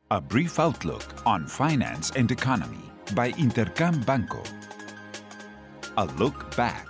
A brief outlook on finance and economy by Intercam Banco. A look back.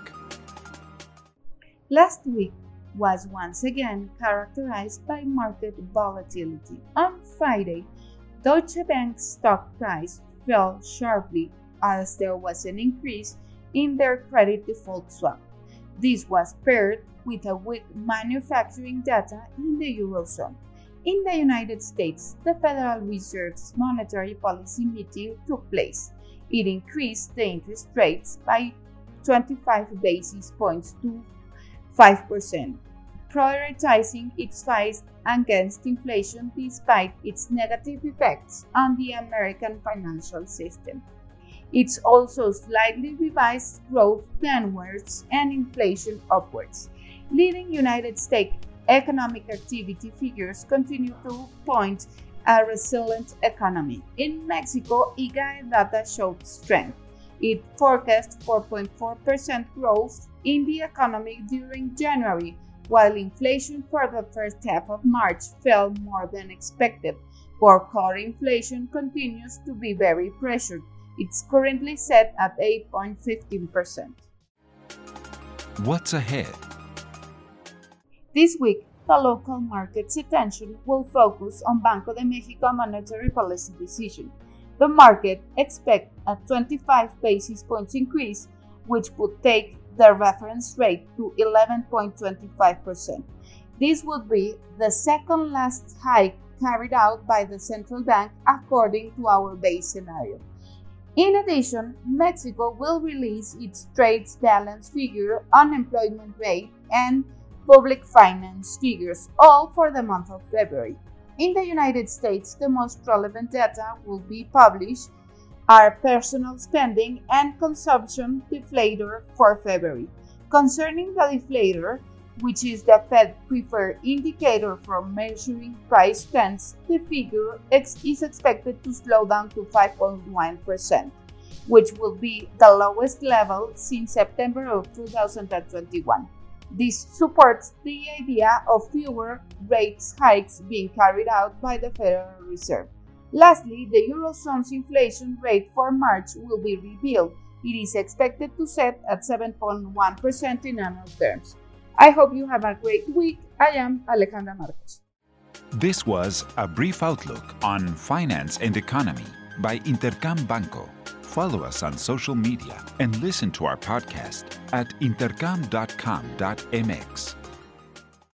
Last week was once again characterized by market volatility. On Friday, Deutsche Bank's stock price fell sharply as there was an increase in their credit default swap. This was paired with a weak manufacturing data in the Eurozone. In the United States, the Federal Reserve's monetary policy meeting took place. It increased the interest rates by 25 basis points to 5%, prioritizing its fight against inflation despite its negative effects on the American financial system. It's also slightly revised growth downwards and inflation upwards, leading United States economic activity figures continue to point a resilient economy. In Mexico, IGAE data showed strength. It forecast 4.4% growth in the economy during January, while inflation for the first half of March fell more than expected. Core inflation continues to be very pressured. It's currently set at 8.15%. What's ahead? This week, the local market's attention will focus on Banco de Mexico monetary policy decision. The market expects a 25 basis points increase, which would take the reference rate to 11.25%. This would be the second last hike carried out by the central bank according to our base scenario. In addition, Mexico will release its trade balance figure, unemployment rate, and public finance figures, all for the month of February. In the United States, the most relevant data will be published are personal spending and consumption deflator for February. Concerning the deflator, which is the Fed preferred indicator for measuring price trends, the figure is expected to slow down to 5.1%, which will be the lowest level since September of 2021. This supports the idea of fewer rate hikes being carried out by the Federal Reserve. Lastly, the Eurozone's inflation rate for March will be revealed. It is expected to set at 7.1% in annual terms. I hope you have a great week. I am Alejandra Marcos. This was a brief outlook on finance and economy by Intercam Banco. Follow us on social media and listen to our podcast at intercam.com.mx.